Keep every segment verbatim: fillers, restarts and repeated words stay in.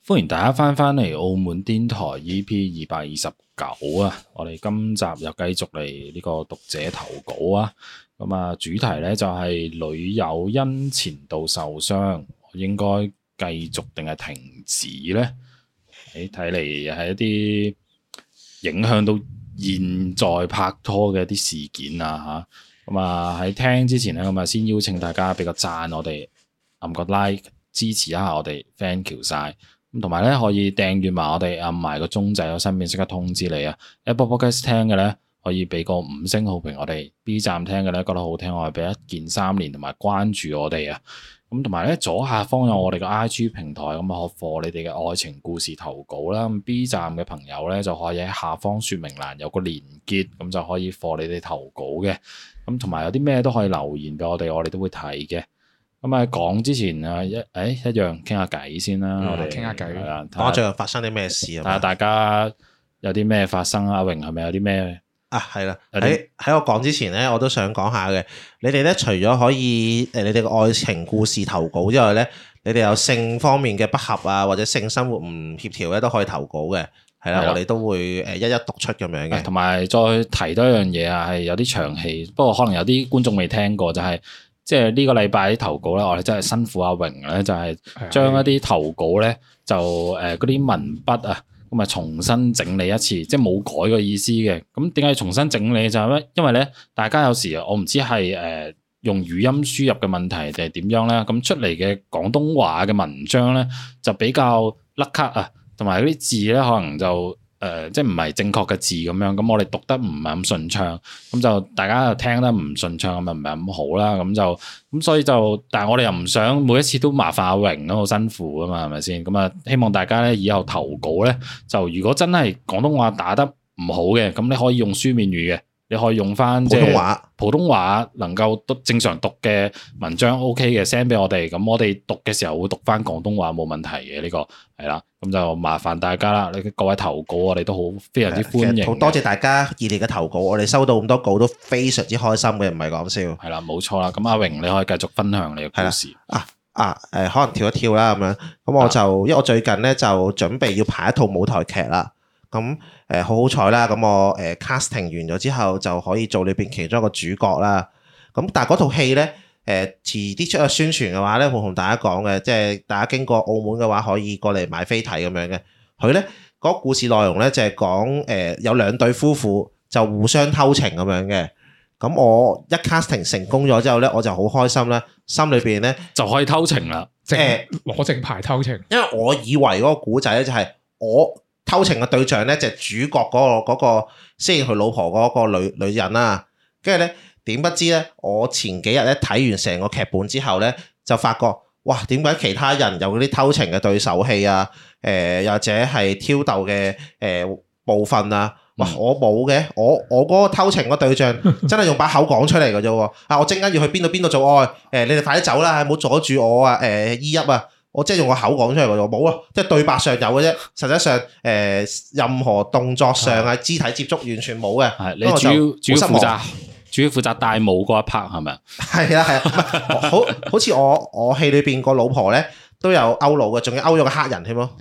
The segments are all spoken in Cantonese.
歡迎大家翻返嚟澳門癲台 E P 二百二十九啊！我哋今集又繼續嚟呢個讀者投稿啊！咁啊，主題咧就係女友因前度受傷，應該繼續定係停止呢？誒，睇嚟係一啲影響到現在拍拖嘅一啲事件啊吓！咁啊喺聽之前咧，咁啊先邀請大家俾個讚我哋，按個 like 支持一下我哋 ，thank you 晒！咁同埋咧，可以訂閱埋我哋，按埋個鐘仔，我身邊即刻通知你啊。Apple Podcast 聽嘅咧，可以俾個五星好評我哋。B 站聽嘅咧，覺得好聽，我哋俾一鍵三連同埋關注我哋啊。咁同埋咧，左下方有我哋嘅 I G 平台，咁啊可課你哋嘅愛情故事投稿啦。咁 B 站嘅朋友咧，就可以喺下方說明欄有個連結，咁就可以課你哋投稿嘅。咁同埋有啲咩都可以留言俾我哋，我哋都會睇嘅。咁啊，講之前啊，一誒一樣傾下偈先啦，我哋傾下偈。 講下最近發生啲咩事啊？ 睇下大家有啲咩發生啊？阿榮係咪有啲咩啊？係啦，喺喺我講之前咧，我都想講下嘅。你哋咧除咗可以誒，你哋嘅愛情故事投稿之外咧，你哋有性方面嘅不合啊，或者性生活唔協調咧，都可以投稿嘅。係啦，我哋都會誒一一讀出咁樣嘅。 同埋再提多一樣嘢啊，係有啲長氣，不過可能有啲觀眾未聽過，就係、是。即係呢個禮拜啲投稿咧，我哋真係辛苦阿榮咧，就係將一啲投稿咧，就誒嗰啲文筆啊，咁啊重新整理一次，即係冇改個意思嘅。咁點解要重新整理就係咩？因為咧，大家有時我唔知係誒用語音輸入嘅問題定係點樣咧，咁出嚟嘅廣東話嘅文章咧就比較甩咳啊，同埋嗰啲字咧可能就。誒、呃，即係唔係正確嘅字咁樣，咁我哋讀得唔係咁順暢，咁就大家又聽得唔順暢，咁咪唔係咁好啦，咁就咁所以就，但係我哋又唔想每一次都麻煩阿榮咯，好辛苦啊嘛，係咪先？咁啊，希望大家咧以後投稿咧，就如果真係廣東話打得唔好嘅，咁你可以用書面語嘅。你可以用翻普通話， 普通話能夠讀正常讀嘅文章 OK 嘅 send 俾我哋，咁我哋讀嘅時候會讀翻廣東話冇問題嘅，呢個係啦，咁就麻煩大家啦，你各位投稿我哋都好非常之歡迎， 好多謝大家熱烈嘅投稿，我哋收到咁多稿都非常之開心嘅，唔係講笑。係啦，冇錯啦，咁阿榮你可以繼續分享你嘅故事。 啊啊誒，可能跳一跳啦咁樣，咁我就、啊、因為我最近咧就準備要排一套舞台劇啦。咁誒好好彩啦！咁我誒 casting 完咗之後就可以做裏邊其中一個主角啦。咁但係嗰套戲咧誒遲啲出咗宣傳嘅話咧，會同大家講嘅，即係大家經過澳門嘅話可以過嚟買飛睇咁樣嘅。佢咧嗰個故事內容咧就係講誒有兩對夫婦就互相偷情咁樣嘅。咁我一 casting 成功咗之後咧，我就好開心啦，心裏邊咧就可以偷情啦， 即係攞正牌偷情。 因為我以為嗰個古仔咧就係我。偷情嘅對象咧就係主角嗰個嗰個飾演佢老婆嗰個女女人啦，跟住咧點不知咧，我前幾日咧睇完成個劇本之後咧，就發覺哇，點解其他人有嗰啲偷情嘅對手戲啊，誒又或者係挑逗嘅誒部分啊，哇我冇嘅，我我嗰個偷情嘅對象真係用把口講出嚟嘅啫喎，啊我陣間要去邊度邊度做愛，誒你哋快啲走啦，唔好阻住我啊，誒依泣啊！我即係用個口講出嚟嘅啫，冇啊！即係對白上有嘅啫，實際上誒、呃、任何動作上啊、肢體接觸完全冇嘅。 係你主要主要負責主要負責戴帽嗰一 part 係咪啊？ 係啊係啊，好好似我我戲裏邊個老婆咧都有勾佬嘅，仲要勾咗個黑人添咯。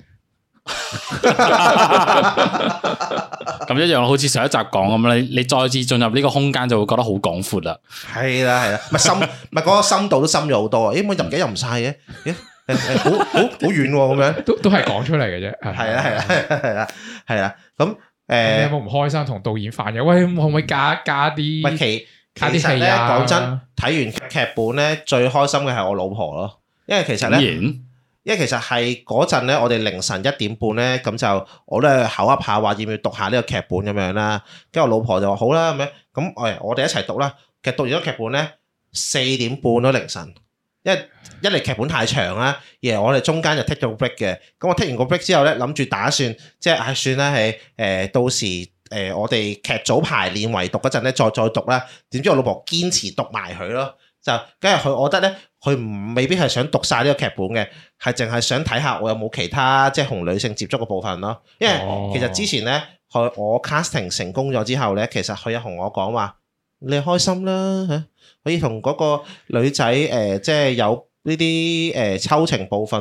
咁一樣，好似上一集講咁，你你再次進入呢個空間就會覺得好廣闊啦。 係啦係啦，咪深咪嗰個深度都深咗好多啊！咦，我入幾入唔晒嘅？咦？誒誒，好好好遠喎，咁樣都都係講出嚟嘅啫。 係啊係啊係啊係啊，咁誒， 你有冇唔開心同導演反映？喂，可唔可以加加啲？ 喂，其其實咧，講真，睇完劇本咧，最開心嘅係我老婆咯，因為其實咧，因為其實係嗰陣咧，我哋凌晨一點半咧，咁就我都係口噏下話要唔要讀下呢個劇本咁樣啦，跟住我老婆就話好啦咁樣，咁誒我哋一齊讀啦。其實讀完咗劇本咧，四點半咯凌晨。因為一嚟劇本太長啦，而係我哋中間就 take 咗個 break 嘅。咁我 take 完個 break 之後咧，諗住打算即係唉算啦，係誒到時誒我哋劇組排練圍讀嗰陣咧，再再讀啦。點知我老婆堅持讀埋佢咯，就跟住佢，我覺得咧，佢唔未必係想讀晒呢個劇本嘅，係淨係想睇下我有冇其他即係同女性接觸嘅部分咯。因為其實之前咧，佢我 casting 成功咗之後咧，其實佢有同我講話，你開心啦嚇。可以同嗰個女仔誒、呃，即係有呢啲誒抽情部分啦，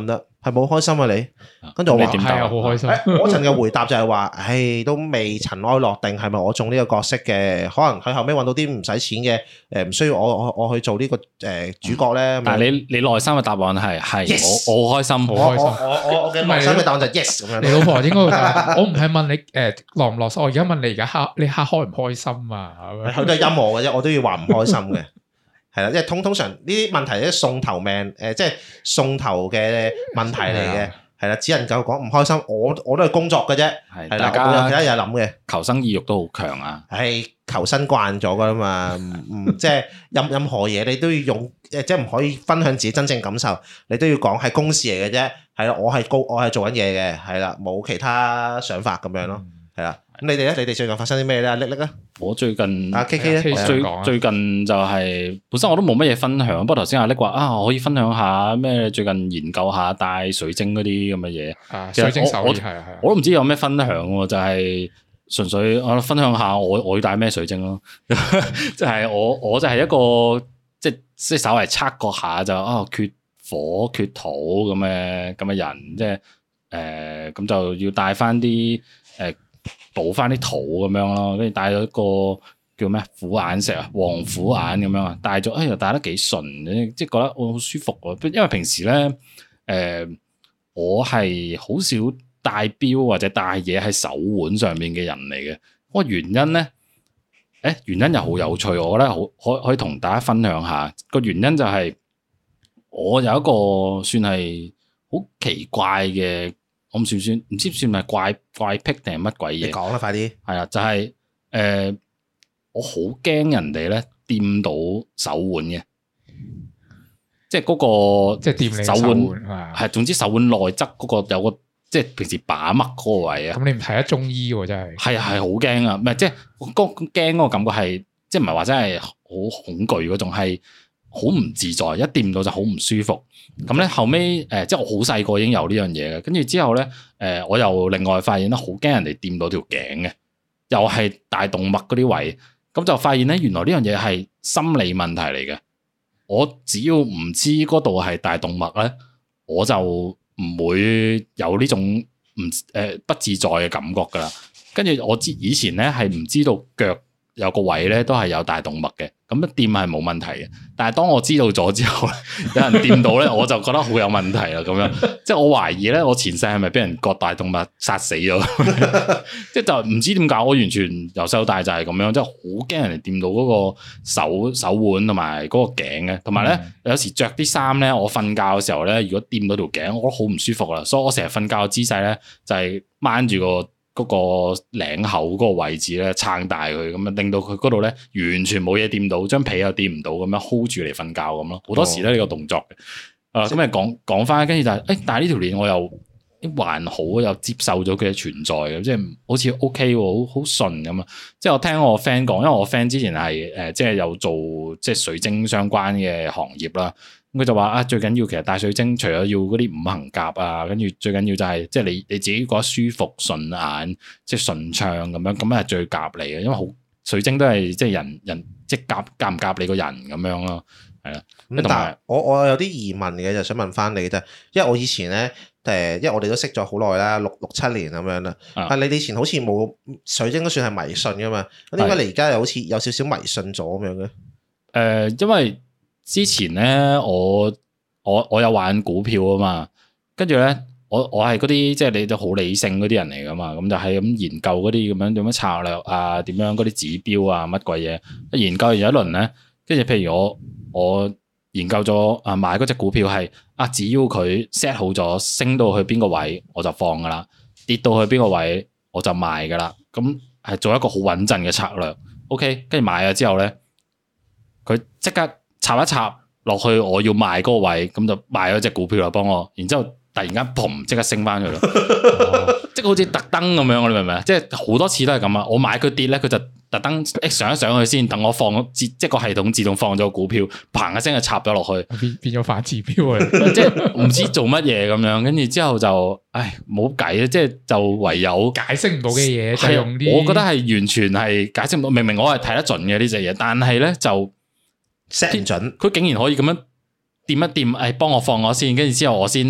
係冇開心啊你？跟住我話係啊，好開心。 嗰陣嘅回答就係話，唉，都未塵埃落定，係咪我中呢個角色嘅？可能佢後尾揾到啲唔使錢嘅，誒唔需要我我我去做呢個誒主角咧。 但係你你內心嘅答案係係我我好開心，好開心。 我我我嘅內心嘅答案就 yes 咁樣。 你老婆應該會答，我唔係問你誒落唔落心，我而家問你而家黑你黑開唔開心啊？ 佢都係陰我嘅啫，我都要話唔開心嘅。係啦，即係通通常呢啲問題咧送頭命，誒即係送頭嘅問題嚟嘅，係啦，只能夠講唔開心。我我都係工作嘅啫，係啦，我有其他嘢諗嘅。 求生意欲都好強啊！ 係求生慣咗噶啦嘛，唔即係任任何嘢你都要用，誒即係唔可以分享自己真正感受，你都要講係公事嚟嘅啫。係啦，我係高，我係做緊嘢嘅，係啦，冇其他想法咁樣咯，係啦。咁你哋咧？你哋最近發生啲咩咧？叻叻啊！ 我最近阿 K K 咧， 最最近就係本身我都冇乜嘢分享，不過頭先阿叻話啊，我可以分享下咩？最近研究下帶水晶嗰啲咁嘅嘢。 啊，水晶手係啊係啊， 我都唔知有咩分享喎，就係純粹我分享下我我要帶咩水晶咯。即係我我就係一個即係即係稍微測過下就啊缺火缺土咁嘅咁嘅人，即係誒咁就要帶翻啲誒。補翻啲土咁樣咯，跟住帶咗個叫咩虎眼石啊，黃虎眼咁樣啊，帶咗，哎呀帶得幾順，即係覺得我好舒服喎。因為平時咧，誒、呃、我係好少帶錶或者帶嘢喺手腕上面嘅人嚟嘅。個原因咧，誒原因又好有趣，我覺得好可可以同大家分享下。個原因就係我有一個算係好奇怪嘅。我唔算算，唔知算係怪怪癖定係乜鬼嘢？ 你講啦，快啲。係啊，就係、是、誒、呃，我好驚人哋咧掂到手腕嘅，即係嗰、那個即係掂你手腕係，總之手腕內側嗰個有個即係平時把脈嗰個位啊。 咁你唔睇得中醫喎，真係。係啊，係好驚啊！唔係即係嗰驚嗰個感覺係，即係唔係話真係好恐懼嗰種係。好唔自在，一掂到就好唔舒服。咁咧後尾，誒、呃，即係我好細個已經有呢樣嘢嘅。跟住之後咧，誒、呃，我又另外發現咧，好驚人哋掂到條頸嘅，又係大動脈嗰啲位。咁就發現咧，原來呢樣嘢係心理問題嚟嘅。我只要唔知嗰度係大動脈咧，我就唔會有呢種唔誒、呃、不自在嘅感覺噶啦。跟住我之以前咧係唔知道腳有個位咧都係有大動脈嘅。咁一掂係冇問題嘅，但係當我知道咗之後，有人掂到咧，我就覺得好有問題啦。咁樣，即係我懷疑咧，我前世係咪俾人割大動脈殺死咗？即係就唔知點解，我完全由細到大就係咁樣，即係好驚人哋掂到嗰個手手腕同埋嗰個頸嘅，同埋咧有時着啲衫咧，我瞓覺嘅時候咧，如果掂到條頸，我覺得好唔舒服啦，所以我成日瞓覺嘅姿勢咧就係掹住個。嗰個領口嗰個位置咧撐大佢，咁啊令到佢嗰度咧完全冇嘢掂到，張被又掂唔到，咁樣 hold 住嚟瞓覺咁咯。好多時咧呢個動作嘅，啊咁啊講講翻，跟住就係、是，誒、欸、但係呢條鏈我又還好，又接受咗佢嘅存在嘅，即係好似 OK 喎，好好順咁啊！即係我聽我 friend 講，因為我 friend 之前係誒即係有做即係水晶相關嘅行業啦。佢就話啊，最緊要其實帶水晶，除咗要嗰啲五行夾啊，跟住最緊要就係即係你你自己覺得舒服順眼，即係順暢咁樣，咁係最夾你嘅。因為好水晶都係即係人人即係夾夾唔夾你個人咁樣咯，係啦。咁但係我我有啲疑問嘅，就想問翻你啫，因為我以前咧誒，因為我哋都識咗好耐啦，六六七年咁樣啦。啊，你以前好似冇水晶都算係迷信噶嘛？咁點解你而家又好似有少少迷信咗咁樣嘅？誒、 呃，因為之前咧，我我我有玩股票啊嘛，跟住咧，我我係嗰啲即係你都好理性嗰啲人嚟噶嘛，咁就係咁研究嗰啲咁樣點樣策略啊，點樣嗰啲指標啊，乜鬼嘢，研究完一輪咧，跟住譬如我我研究咗啊買嗰隻股票係啊，只要佢 set 好咗升到去邊個位我就放噶啦，跌到去邊個位我就賣噶啦，咁係做一個好穩陣嘅策略。OK，跟住買咗之後咧，佢即刻插一插落去我要賣嗰個位，咁就賣咗隻股票啦，幫我。然之後突然間嘭，即刻升翻去咯，即係好似特登咁樣，你明唔明啊？即係好多次都係咁啊！我買佢跌咧，佢就特登一上一上去先，等我放即係個系統自動放咗股票，嘭一聲就插咗落去， 變變咗反指標啊！ 即係唔知做乜嘢咁樣，跟住之後就唉冇計啊！即係就唯有解釋唔到嘅嘢，就用啲我覺得係完全係解釋唔到。明明我係睇得準嘅呢隻嘢，但係咧就 set 唔準， 佢竟然可以咁樣掂一掂，誒，幫我放我先，跟住之後我先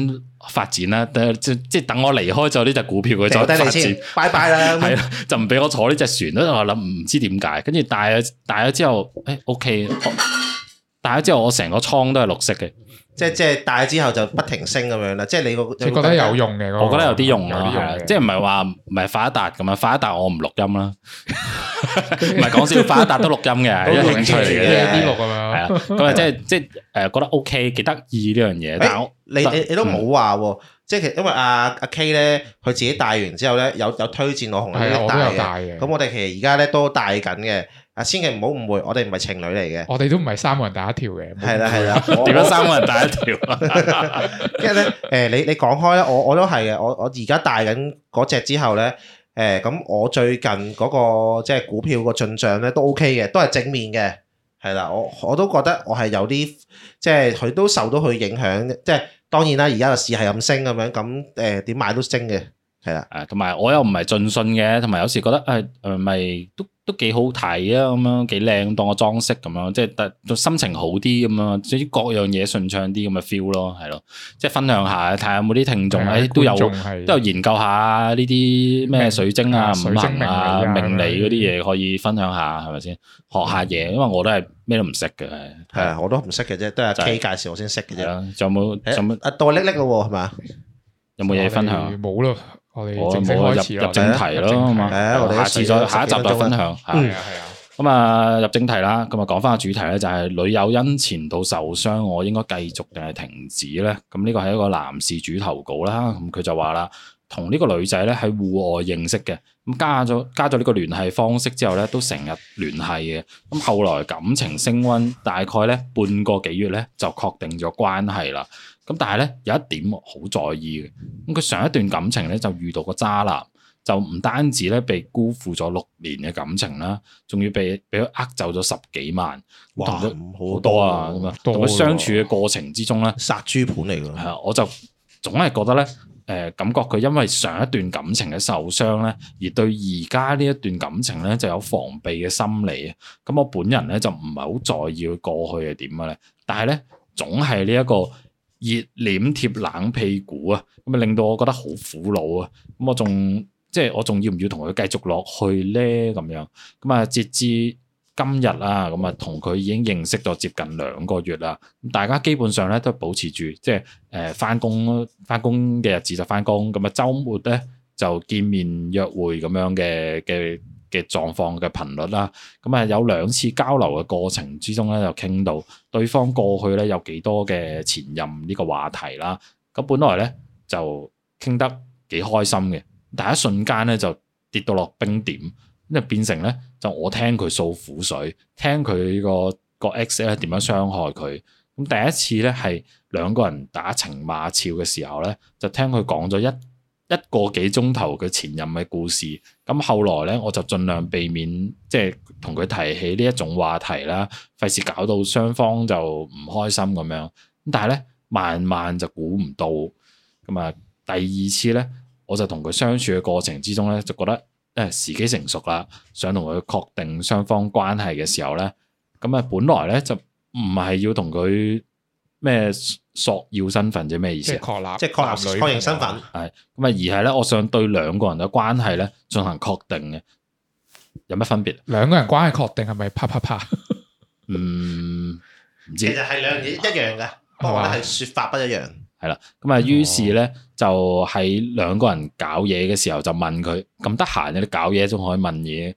發展啦，即即等我離開咗呢隻股票佢再發展， 拜拜啦， 係啦，就唔俾我坐呢隻船咯。我諗唔知點解，跟住帶咗帶咗之後，誒、欸、OK，帶咗之後我成個倉都係綠色嘅。 即即係帶之後就不停升咁樣啦，即係你個你覺得有用嘅， 我覺得有啲用咯，係即係唔係話唔係發一達咁啊？發一達我唔錄音啦，唔係講笑，發一達都錄音嘅，一興趣嚟嘅， 啲錄咁樣，係啊，咁啊即係即係誒覺得 OK 幾得意呢樣嘢，但係你你你都冇話喎，即係其實因為阿阿 K 咧，佢自己帶完之後咧，有有推薦我同你帶嘅，咁我哋其實而家咧都帶緊嘅。啊，千祈唔好誤會，我哋唔係情侶嚟嘅。 我哋都唔係三個人打一條嘅。 係啦係啦， 點解三個人打一條啊？ 因為咧，誒你你講開咧，我我都係嘅。我我而家帶緊嗰隻之後咧，誒咁我最近嗰個即係股票個進帳咧都 OK 嘅，都係正面嘅。係啦，我我都覺得我係有啲即係佢都受到佢影響，即係當然啦。而家個市係咁升咁樣，咁誒點買都升嘅。係啦， 誒同埋我又唔係盡信嘅，同埋有時覺得誒誒咪都。都幾好睇啊，咁樣幾靚，當個裝飾咁樣，即係但心情好啲咁樣，至於各樣嘢順暢啲咁嘅 feel 咯，係咯，即係分享下，睇下有冇啲聽眾誒都有都有研究下呢啲咩水晶啊、五行啊、命理嗰啲嘢可以分享下，係咪先？學下嘢，因為我都係咩都唔識嘅， 係啊，我都唔識嘅啫，都係阿 K 介紹我先識嘅啫。 仲有冇？仲有冇？ 阿到叻叻咯，係嘛？ 有冇嘢分享？ 冇咯。我哋正式入開始入正題咯，嘛，下次再下一集再分享。 係啊係啊。 咁啊入正題啦，咁啊講翻個主題咧，就係女友因前度受傷，我應該繼續定係停止咧？咁呢個係一個男事主投稿啦。咁佢就話啦，同呢個女仔咧喺戶外認識嘅，咁加咗加咗呢個聯繫方式之後咧，都成日聯繫嘅。咁後來感情升溫，大概咧半個幾月咧就確定咗關係啦。咁但係咧有一點好在意嘅，咁佢上一段感情咧就遇到個渣男，就唔單止咧被辜負咗六年嘅感情啦，仲要被俾佢呃走咗十幾萬， 哇， 好多啊！咁啊，同佢相處嘅過程之中咧， 殺豬盤嚟㗎。係啊，我就總係覺得咧，誒、呃、感覺佢因為上一段感情嘅受傷咧，而對而家呢一段感情咧就有防備嘅心理啊。咁我本人咧就唔係好在意佢過去係點嘅咧，但係咧總係呢一個熱臉貼冷屁股啊，咁啊令到我覺得好苦惱啊！咁我仲即係我仲要唔要同佢繼續落去咧？咁樣咁啊，截至今日啊，咁啊同佢已經認識咗接近兩個月啦。咁大家基本上咧都保持住即係誒返工返工嘅日子就返工，咁啊週末咧就見面約會咁樣嘅嘅嘅狀況嘅頻率啦，咁啊有兩次交流嘅過程之中咧，就傾到對方過去咧有幾多嘅前任呢個話題啦。咁本來咧就傾得幾開心嘅，但係一瞬間咧就跌到落冰點，咁就變成咧就我聽佢訴苦水，聽佢個個 ex 咧點樣傷害佢。咁第一次咧係兩個人打情罵俏嘅時候咧，就聽佢講咗一一個幾鐘頭佢前任嘅故事，咁後來咧我就盡量避免即係同佢提起呢一種話題啦，費事搞到雙方就唔開心咁樣。咁但係咧慢慢就估唔到，咁啊第二次咧我就同佢相處嘅過程之中咧，就覺得誒時機成熟啦，想同佢確定雙方關係嘅時候咧，咁啊本來咧就唔係要同佢咩索要身份啫，咩意思啊？ 確立， 即係確立確認身份。 係咁啊，而係咧，我想對兩個人嘅關係咧進行確定嘅，有乜分別？ 兩個人關係確定係咪啪啪啪？ 嗯，唔知。 其實係兩樣嘢一樣嘅，不過係説法不一樣。係啦，咁啊，於是咧就喺兩個人搞嘢嘅時候就問佢，咁得閒嘅你搞嘢仲可以問嘢，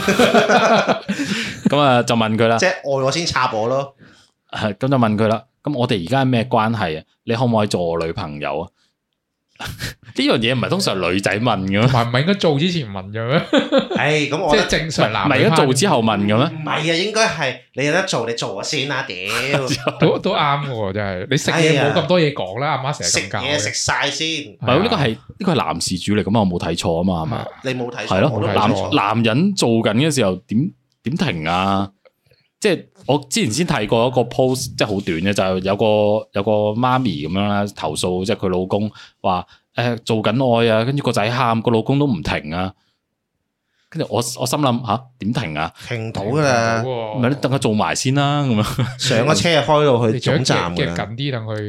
咁啊就問佢啦。即係愛我先插我咯。 係咁就問佢啦。咁我哋而家係咩關係啊？你可唔可以做我女朋友啊？呢樣嘢唔係通常女仔問嘅咩？唔係唔係應該做之前問嘅咩？ 係咁我即係正常男。 唔係而家做之後問嘅咩？ 唔係啊，應該係你有得做，你做我先啦。屌， 都都啱嘅，真係。你食嘢冇咁多嘢講啦，阿媽成日咁教。 食嘢食晒先。 唔係呢個係呢個係男事主嚟，咁我冇睇錯啊嘛，係嘛？ 你冇睇錯。 係咯，男男人做緊嘅時候點點停啊？即係我之前先睇過一個 post，即係好短嘅，就係有個有個媽咪咁樣啦，投訴即係佢老公話誒做緊愛啊，跟住個仔喊，個老公都唔停啊，跟住我我心諗吓點停啊？ 停到噶啦， 唔係你等佢做埋先啦，咁樣上個車開到去總站嘅， 緊啲等佢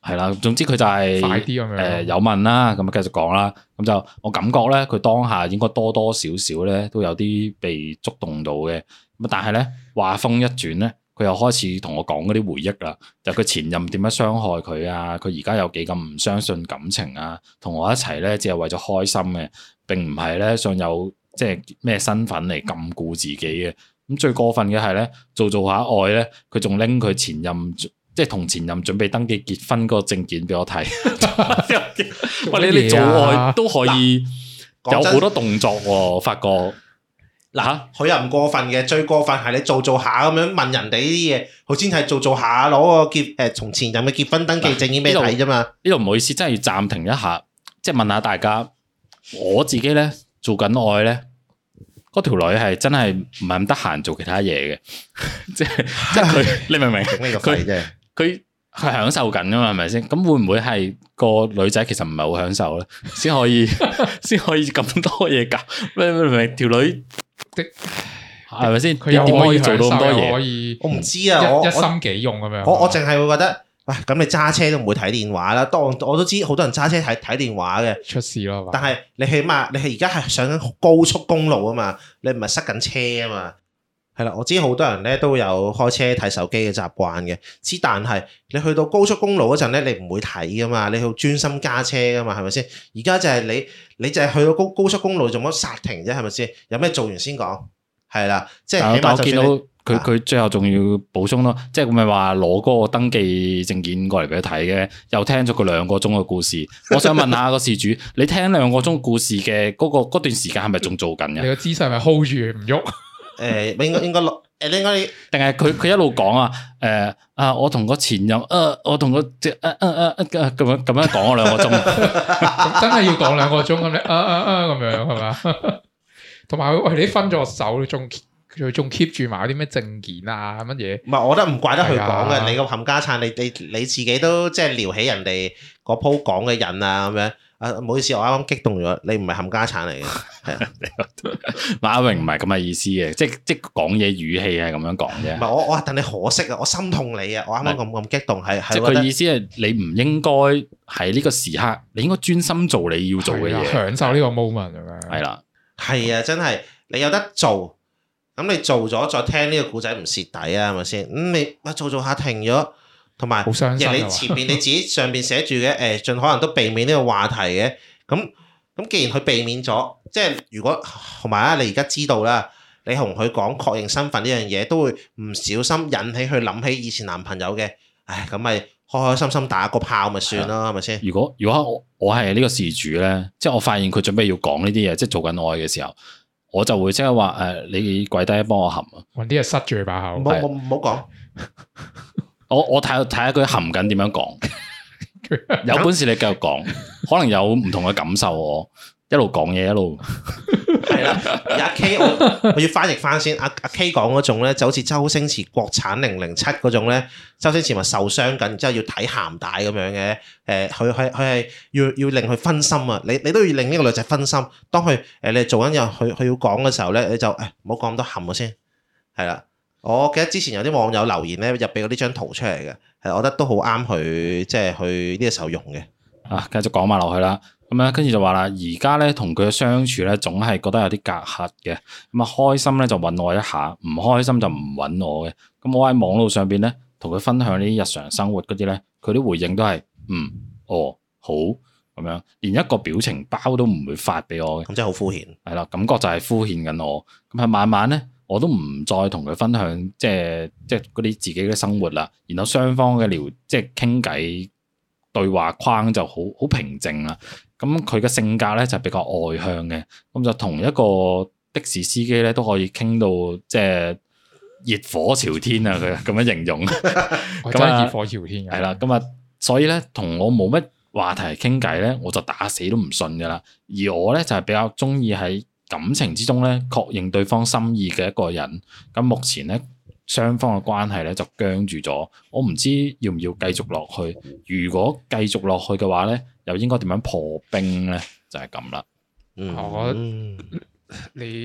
係啦，總之佢就係快啲咁樣誒有問啦，咁啊繼續講啦。咁就我感覺咧，佢當下應該多多少少咧都有啲被觸動到嘅。咁但係咧話風一轉咧，佢又開始同我講嗰啲回憶啦，就佢前任點樣傷害佢啊，佢而家有幾咁唔相信感情啊，同我一齊咧只係為咗開心嘅，並唔係咧想有即係咩身份嚟禁錮自己嘅。咁最過分嘅係咧，做做下愛咧，佢仲拎佢前任。即係同前任準備登記結婚嗰個證件俾我睇，喂，你你做愛都可以有好多動作喎，發覺嗱， 佢又唔過分嘅，最過分係你做做下咁樣問人哋呢啲嘢，佢先係做做下攞個結誒從前任嘅結婚登記證件俾你睇啫嘛。呢度唔好意思，真係要暫停一下，即係問下大家，我自己咧做緊愛咧，嗰條女係真係唔係咁得閒做其他嘢嘅，即係即係佢，你明唔明？佢佢係享受緊噶嘛，係咪先？咁會唔會係個女仔其實唔係好享受咧，先可以先可以咁多嘢搞？明唔明？條女係咪先？佢又點可以做到咁多嘢？ 可以我唔知啊，我一心幾用咁樣。 我我淨係會覺得，喂，咁你揸車都唔會睇電話啦。當我都知好多人揸車睇睇電話嘅， 出事咯。 但係你起碼你係而家係上緊高速公路啊嘛，你唔係塞緊車啊嘛。係啦，我知好多人咧都有開車睇手機嘅習慣嘅，之但係你去到高速公路嗰陣咧，你唔會睇噶嘛，你要專心揸車噶嘛，係咪先？而家就係你，你就係去到高高速公路做乜剎停啫，係咪先？有咩做完先講？係啦，即係起碼就算你。但我見到佢佢最後仲要補充咯，即係咪話攞嗰個登記證件過嚟俾佢睇嘅？又聽咗佢兩個鐘嘅故事，我想問下個事主，你聽兩個鐘故事嘅嗰個嗰段時間係咪仲做緊嘅？ 你個姿勢係咪 hold 住唔喐？ 誒，應該應該落誒，應該定係佢佢一路講啊？誒啊，我同個前任，誒，我同個即係誒誒誒咁樣咁樣講咗兩個鐘， 咁真係要講兩個鐘咁你啊啊啊咁樣係嘛？同埋喂，你分咗手，你仲佢仲 keep 住埋啲咩證件啊乜嘢？ 唔係，我覺得唔怪得佢講嘅，你個冚家鏟，你你你自己都即係撩起人哋嗰鋪講嘅人啊咁樣。啊，唔好意思，我啱啱激動咗，你唔係冚家鏟嚟嘅，係啊， 馬榮唔係咁嘅意思嘅，即即講嘢語氣係咁樣講啫。 唔係我我係戥你可惜啊，我心痛你啊，我啱啱咁咁激動，係係。 即佢意思係你唔應該喺呢個時刻，你應該專心做你要做嘅嘢， 享受呢個 moment 咁樣。 係啦， 係啊，真係你有得做，咁你做咗再聽呢個故仔唔蝕底啊，係咪先？咁你啊做做下停咗。同埋，亦你前邊你自己上邊寫住嘅，誒，盡可能都避免呢個話題嘅。咁咁，既然佢避免咗，即係如果同埋啊，你而家知道啦，你同佢講確認身份呢樣嘢，都會唔小心引起佢諗起以前男朋友嘅。唉，咁咪開開心心打個炮咪算咯，係咪先？ 如果如果我我係呢個事主咧，即係我發現佢準備要講呢啲嘢，即係做緊愛嘅時候，我就會即係話誒，你跪低幫我含啊， 揾啲嘢塞住佢把口。 唔好唔好講。 我我睇睇下佢含緊點樣講，有本事你繼續講，可能有唔同嘅感受。我一路講嘢一路係啦。阿 K 我我要翻譯翻先。阿阿 K 講嗰種咧，就好似周星馳國產零零七嗰種咧，周星馳咪受傷緊，然之後要睇鹹帶咁樣嘅。誒，佢佢佢係要要令佢分心啊！你你都要令呢個女仔分心。當佢誒你做緊嘢，佢佢要講嘅時候咧，你就誒唔好講咁多含咗先。係啦。我記得之前有啲網友留言咧，入俾嗰啲張圖出嚟嘅，係我覺得都好啱佢，即係去呢個時候用嘅。 啊，繼續講埋落去啦。咁樣跟住就話啦，而家咧同佢嘅相處咧，總係覺得有啲隔閡嘅。咁啊，開心咧就揾我一下，唔開心就唔揾我嘅。咁我喺網絡上邊咧，同佢分享呢啲日常生活嗰啲咧，佢啲回應都係嗯，哦，好咁樣，連一個表情包都唔會發俾我嘅。 咁真係好敷衍。 係啦，感覺就係敷衍緊我。咁係慢慢咧。我都唔再同佢分享，即係即係嗰啲自己嘅生活啦。然後雙方嘅聊，即係傾偈對話框就好好平靜啦。咁佢嘅性格咧就比較外向嘅，咁就同一個的士司機咧都可以傾到即係熱火朝天啊！佢咁樣形容， 咁係熱火朝天嘅。 係啦，咁啊，所以咧同我冇乜話題傾偈咧，我就打死都唔信噶啦。而我咧就係比較中意喺感情之中咧，確認對方心意嘅一個人。咁目前咧，雙方嘅關係咧就僵住咗。我唔知要唔要繼續落去。如果繼續落去嘅話咧，又應該點樣破冰咧？就係咁啦。 我覺得你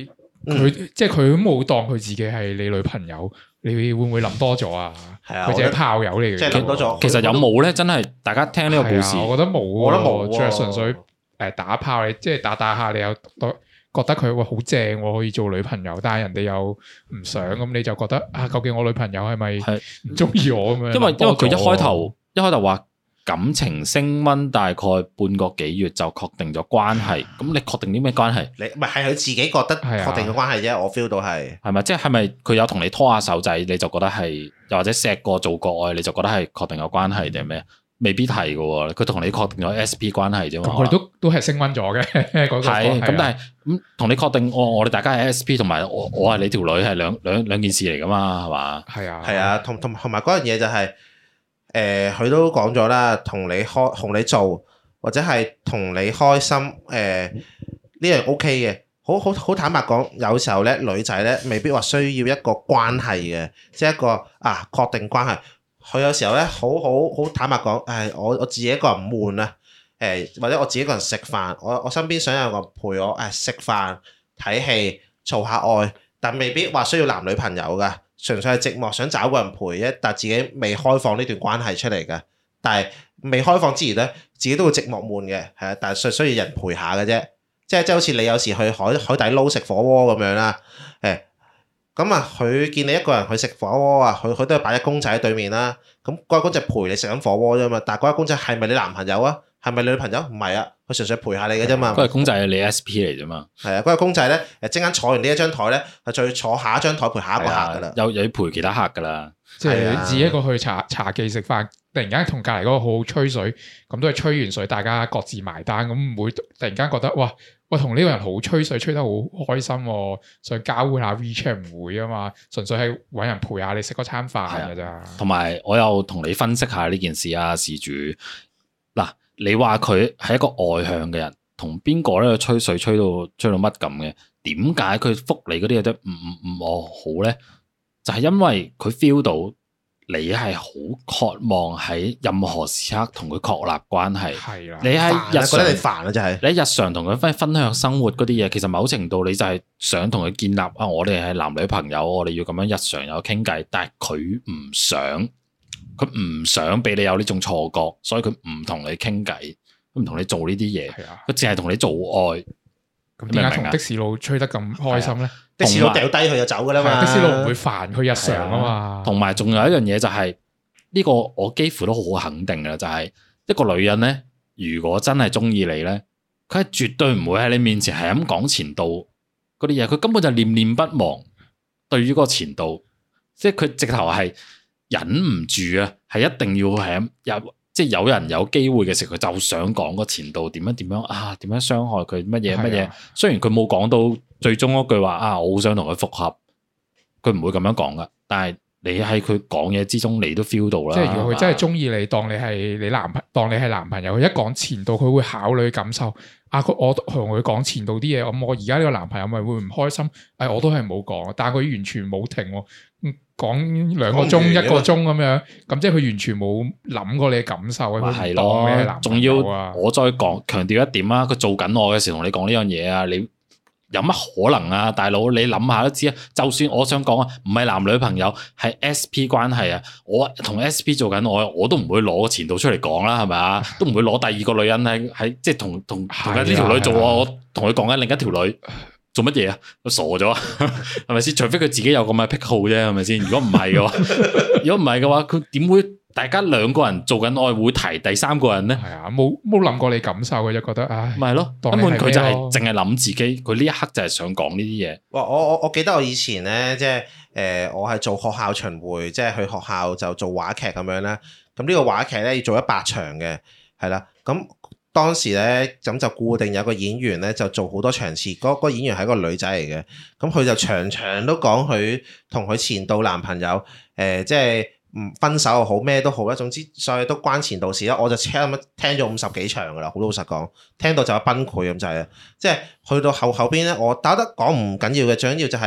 佢、嗯、即係佢都冇當佢自己係你女朋友，你會唔會諗多咗啊？係啊，佢只係炮友嚟嘅， 即係諗多咗。 其實有冇咧？真係大家聽呢個故事， 我覺得冇， 我覺得冇， 即係純粹誒打炮，你即係打打下，你又覺得佢會好正，可以做女朋友，但係人哋又唔想，咁你就覺得啊，究竟我女朋友係咪唔中意我咁樣？ 因為因為佢一開頭一開頭話感情升溫大概半個幾月就確定咗關係，咁你確定啲咩關係？ 你唔係係佢自己覺得確定嘅關係啫，啊、我 feel 到係係咪？即係係咪佢有同你拖下手仔，你就覺得係，又或者錫過做過愛，你就覺得係確定嘅關係定係咩？未必係嘅，佢同你確定咗 S P 關係啫嘛。 佢都都係升溫咗嘅，嗰係咁，但係咁同你確定我我哋大家係 S P，同埋我我係你條女係兩兩兩件事嚟噶嘛，係嘛？ 係啊， 係啊，同同同埋嗰樣嘢就係、是，誒、呃，佢都講咗啦，同你開同你做或者係同你開心，誒、呃，呢樣 O K 嘅，好好好坦白講，有時候咧女仔咧未必話需要一個關係嘅，即係一個啊確定關係。佢有時候咧，好好好坦白講，誒，我我自己一個人唔悶啊，誒，或者我自己一個人食飯，我我身邊想有個陪我誒食飯、睇戲、做下愛，但未必話需要男女朋友㗎，純粹係寂寞想找個人陪啫，但自己未開放呢段關係出嚟㗎，但係未開放之餘咧，自己都會寂寞悶嘅，係啊，但係需需要人陪下嘅啫，即係即係好似你有時去海海底撈食火鍋咁樣啦，誒。咁啊，佢見你一個人去食火鍋啊，佢佢都係擺隻公仔喺對面啦。咁嗰隻公仔陪你食緊火鍋啫嘛。但係嗰隻公仔係咪你男朋友啊？係咪你女朋友？唔係啊，佢純粹陪下你嘅啫嘛。 嗰隻公仔係你 S P 嚟啫嘛。係啊，嗰隻公仔咧，誒，陣間坐完呢一張台咧，就再坐下一張台陪下一個客噶啦。 又又要陪其他客噶啦。 即係自己一個去茶茶記食飯，突然間同隔離嗰個好好吹水，咁都係吹完水，大家各自埋單，咁唔會突然間覺得哇！我同呢個人好吹水，吹得好開心喎，想交換下 WeChat 唔會啊嘛，純粹係揾人陪下你食嗰餐飯㗎咋。同埋我又同你分析下呢件事啊，事主嗱，你話佢係一個外向嘅人，同邊個咧吹水吹到吹到乜咁嘅？點解佢覆你嗰啲嘢都唔唔唔我好咧？就係因為佢 feel 到你係好渴望喺任何時刻同佢確立關係。係啦，你係日常覺得你煩啊，真係。你日常同佢分分享生活嗰啲嘢，其實某程度你就係想同佢建立啊，我哋係男女朋友，我哋要咁樣日常有傾偈。但係佢唔想，佢唔想俾你有呢種錯覺，所以佢唔同你傾偈，唔同你做呢啲嘢。係啊，佢淨係同你做愛。 咁點解同的士佬吹得咁開心咧？ 的士佬掉低佢就走噶啦嘛， 的士佬唔會煩佢日常啊嘛。 同埋仲有一樣嘢就係呢個，我幾乎都好肯定嘅，就係一個女人咧，如果真係中意你咧，佢係絕對唔會喺你面前係咁講前度嗰啲嘢，佢根本就念念不忘。對於嗰個前度，即係佢直頭係忍唔住啊，係一定要係咁有。即係有人有機會嘅時候，佢就想講個前度點樣點樣啊，點樣傷害佢乜嘢乜嘢。雖然佢冇講到最終嗰句話啊，我好想同佢復合，佢唔會咁樣講噶。但係你喺佢講嘢之中，你都 feel 到啦。 即係如果佢真係中意你，當你係你男朋，當你係男朋友，佢一講前度，佢會考慮感受。啊，我同佢講前度啲嘢，咁我而家呢個男朋友咪會唔開心？誒、哎，我都係冇講，但係佢完全冇停，講兩個鐘一個鐘咁樣，咁即係佢完全冇諗過你嘅感受。 係咯，仲要我再講強調一點啊，佢做緊我嘅時候同你講呢樣嘢啊，你有乜可能啊，大佬？你諗下都知啊。就算我想講啊，唔係男女朋友，係 S P 關係啊，我同 S P 做緊我，我都唔會攞前度出嚟講啦，係咪啊？都唔會攞第二個女人喺喺即係同同同緊呢條女做啊，我同佢講緊另一條女做乜嘢啊？我傻咗啊？係咪先？除非佢自己有咁嘅癖好啫，係咪先？如果唔係嘅話，如果唔係嘅話，佢點會？大家兩個人做緊愛會提第三個人咧？係啊，冇冇諗過你感受嘅，就覺得唉， 咪係咯，根本佢就係淨係諗自己，佢呢一刻就係想講呢啲嘢。 哇！我我我記得我以前咧，即係誒、呃，我係做學校巡迴，即係去學校就做話劇咁樣啦。咁呢個話劇咧要做一百場嘅，係啦。咁當時咧咁就固定有個演員咧就做好多場次，嗰、嗰個演員係一個女仔嚟嘅。咁佢就場場都講佢同佢前度男朋友誒、呃，即係。唔分手又好咩都好啦，總之所以都關前度事啦。我就聽咁聽咗五十幾場噶啦，好老實講，聽到就有崩潰咁就係，即係去到後後邊咧，我打得講唔緊要嘅，最緊要就係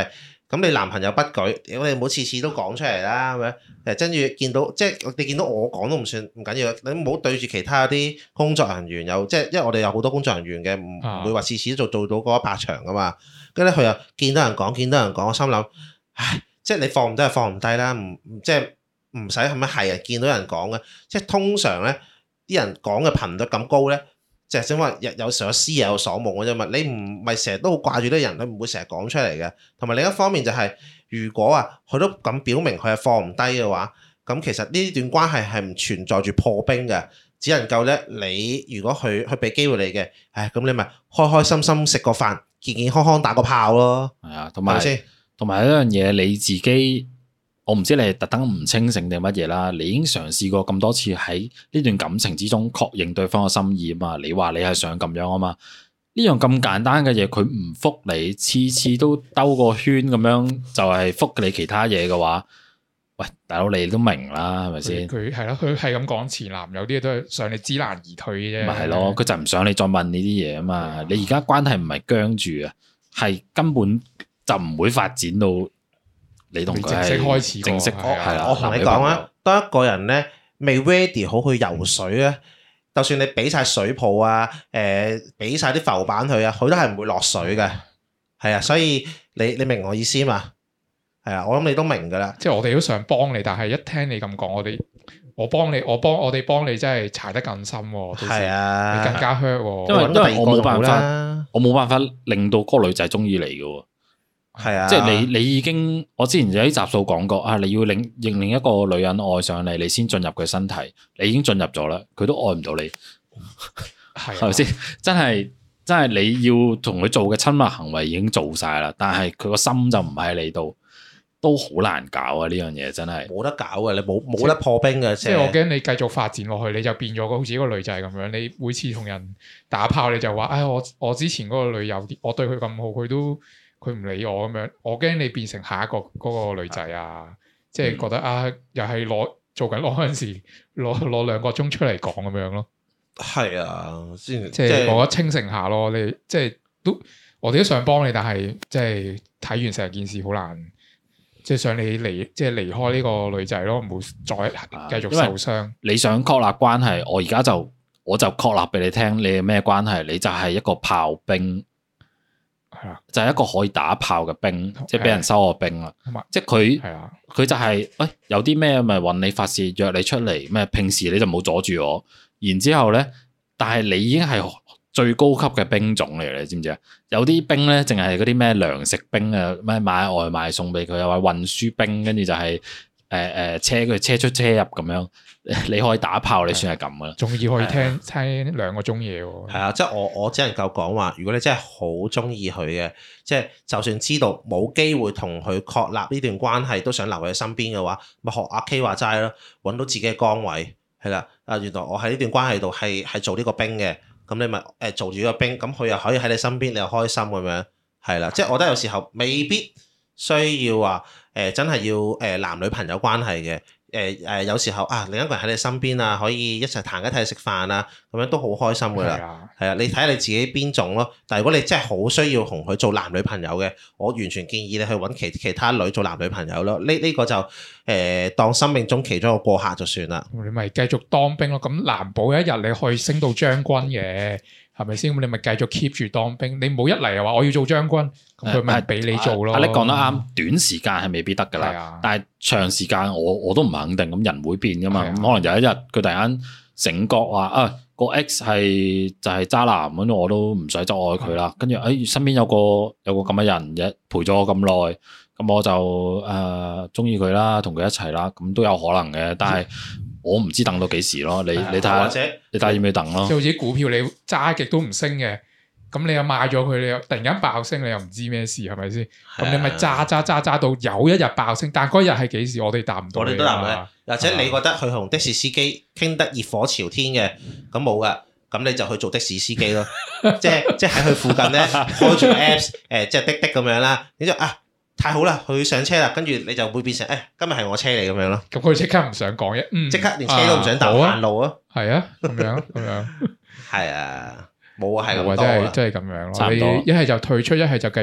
咁你男朋友不舉，我哋唔好次次都講出嚟啦，咁樣誒，跟住見到即係你見到我講都唔算唔緊要，你唔好對住其他啲工作人員有即係，因為我哋有好多工作人員嘅，唔唔會話次次都做做到嗰一百場噶嘛。跟住咧佢又見到人講，見到人講，我心諗，唉，即係你放唔低就放唔低啦，唔即係唔使係咪係啊？見到人講嘅，即係通常咧啲人講嘅頻率咁高咧。就係因為有有時有思夜有所夢嘅啫嘛，你唔係成日都好掛住啲人，你唔會成日講出嚟嘅。同埋另一方面就係、是，如果啊佢都咁表明佢係放唔低嘅話，咁其實呢段關係係唔存在住破冰嘅，只能夠咧你如果佢佢俾機會你嘅，唉咁你咪開開心心食個飯，健健康康打個炮咯。係啊，同埋同埋一樣嘢你自己。我唔知你係特登唔清醒定乜嘢啦，你已經嘗試過咁多次喺呢段感情之中確認對方嘅心意啊嘛，你話你係想咁樣啊嘛，呢樣咁簡單嘅嘢佢唔覆你，次次都兜個圈咁樣就係覆你其他嘢嘅話，喂大佬你都明啦係咪先？ 佢係咯，佢係咁講前男友啲嘢都係想你知難而退啫。 咪係咯，佢就唔想你再問呢啲嘢啊嘛，的你而家關係唔係僵住啊，係根本就唔會發展到。你同佢正式開始， 正式係啦。 我同你講啊，當一個人咧未 ready 好去游水咧，就算你俾晒水泡啊，誒俾晒啲浮板佢啊，佢都係唔會落水嘅。係啊，所以你你明我意思嘛？係啊，我諗你都明噶啦。 即係我哋都想幫你，但係一聽你咁講，我哋我幫你，我幫我哋幫你，真係踩得更深。係啊，你更加 hurt。 因為因為我冇辦法，我冇辦法令到嗰個女仔中意你嘅。 係啊， 即係你你已經，我之前有啲集數講過啊，你要令令另一個女人愛上你，你先進入佢身體，你已經進入咗啦，佢都愛唔到你，係咪先？真係真係你要同佢做嘅親密行為已經做晒啦，但係佢個心就唔喺你度，都好難搞啊！呢樣嘢真係冇得搞嘅，你冇冇得破冰嘅， 即係我驚你繼續發展落去，你就變咗好似一個女仔咁樣，你每次同人打炮你就話，唉，我我之前嗰個女友，我對佢咁好，佢都。佢唔理我咁樣，我驚你變成下一個嗰個女仔啊！嗯、即係覺得啊，又係攞做緊攞嗰陣時攞攞兩個鐘出嚟講咁樣咯。係啊，先即係我覺得清醒下咯。你即係都我哋都想幫你，但係即係睇完成件事好難，即係想你離即係離開呢個女仔咯，唔好再繼續受傷。 啊、你想確立關係，我而家就我就確立俾你聽，你係咩關係？你就係一個炮兵。係啊，就係一個可以打炮嘅兵，即係俾人收個兵啦。即係佢，佢就係，喂，有啲咩咪揾你發泄，約你出嚟咩？平時你就冇阻住我。然之後咧，但係你已經係最高級嘅兵種嚟，你知唔知啊？有啲兵咧，淨係嗰啲咩糧食兵啊，咩買外賣送俾佢，又話運輸兵，跟住就係誒誒車佢車出車入咁樣。你可以打炮，你算係咁噶啦， 仲要可以聽、啊、聽兩個鐘嘢喎。 係啊，即係我我只能夠講話，如果你真係好中意佢嘅，即係就算知道冇機會同佢確立呢段關係，都想留喺身邊嘅話，咪學阿 K 話齋咯，揾到自己嘅崗位係啦。啊，原來我喺呢段關係度係係做呢個兵嘅，咁你咪誒做住呢個兵，咁佢又可以喺你身邊，你又開心咁樣係啦。即係我覺得有時候未必需要話誒、呃、真係要誒男女朋友關係嘅。誒誒、呃，有時候啊，另一個人喺你身邊啊，可以一齊彈一齊食飯啊，咁樣都好開心噶啦。係啊，你睇下你自己邊種咯。但係如果你真係好需要同佢做男女朋友嘅，我完全建議你去揾其其他女做男女朋友咯。呢呢、呢個就誒、呃、當生命中其中一個過客就算啦。 你咪繼續當兵咯。咁難保一日你可以升到將軍嘅。係咪先？咁你咪繼續 keep 住當兵，你冇一嚟又話我要做將軍，咁佢咪俾你做咯。 啊，你講得啱，短時間係未必得噶啦，啊、但係長時間我我都唔肯定。咁人會變噶嘛，咁、啊、可能有一日佢突然間醒覺話啊個 X 係就係渣男，咁我都唔使再愛佢啦。跟住誒身邊有個有個咁嘅人嘅陪咗我咁耐，咁我就誒中意佢啦，同佢一齊啦，咁都有可能嘅，但係。我唔知等到幾時咯，你你睇下，你睇下要唔要等咯？ 即係好似股票你揸極都唔升嘅，咁你又賣咗佢，你又突然間爆升，你又唔知咩事係咪先？咁你咪揸揸揸揸到有一日爆升，但嗰日係幾時？我哋答唔到。我哋都答唔到。 或者你覺得佢同的士司機傾得熱火朝天嘅，咁冇噶，咁你就去做的士司機咯。即係即係喺佢附近咧開住 Apps， 誒即係滴滴咁樣啦。你就啊〜太好啦，佢上車啦，跟住你就會變成誒、哎，今日係我車嚟咁樣咯。 咁佢即刻唔想講嘢，即、嗯、 刻連車都唔想搭行路啊。 係啊，咁樣咁樣， 係啊，冇啊，係咁多啊，真係真係咁樣咯。你一係就退出，一係就繼續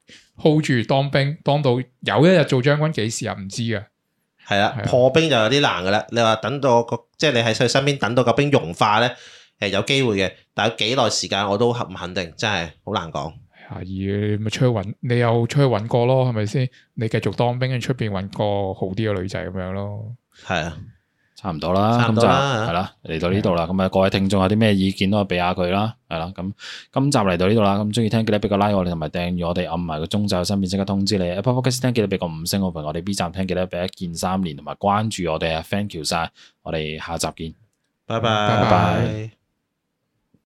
hold 住當兵，當到有一日做將軍，幾時啊？唔知嘅。 係啦，破冰就有啲難噶啦。你話等到個即係你喺佢身邊等到個冰融化咧，誒有機會嘅，但係幾耐時間我都唔肯定，真係好難講。 係啊，咪出去揾，你又出去揾過咯，係咪先？你繼續當兵，喺出邊揾個好啲嘅女仔咁樣咯。係啊。 差唔多啦，咁就係啦，嚟到呢度啦。咁啊，各位聽眾有啲咩意見都可以俾下佢啦，係啦。咁今集嚟到呢度啦，咁中意聽記得俾個 like 我哋，同埋訂閱我哋，按埋個鐘仔，身邊即刻通知你。Apple Podcast 聽記得俾個五星好評，我哋 B 站聽記得俾一鍵三連，同埋關注我哋啊 ，thank you 晒，我哋下集見， 拜拜。 拜拜。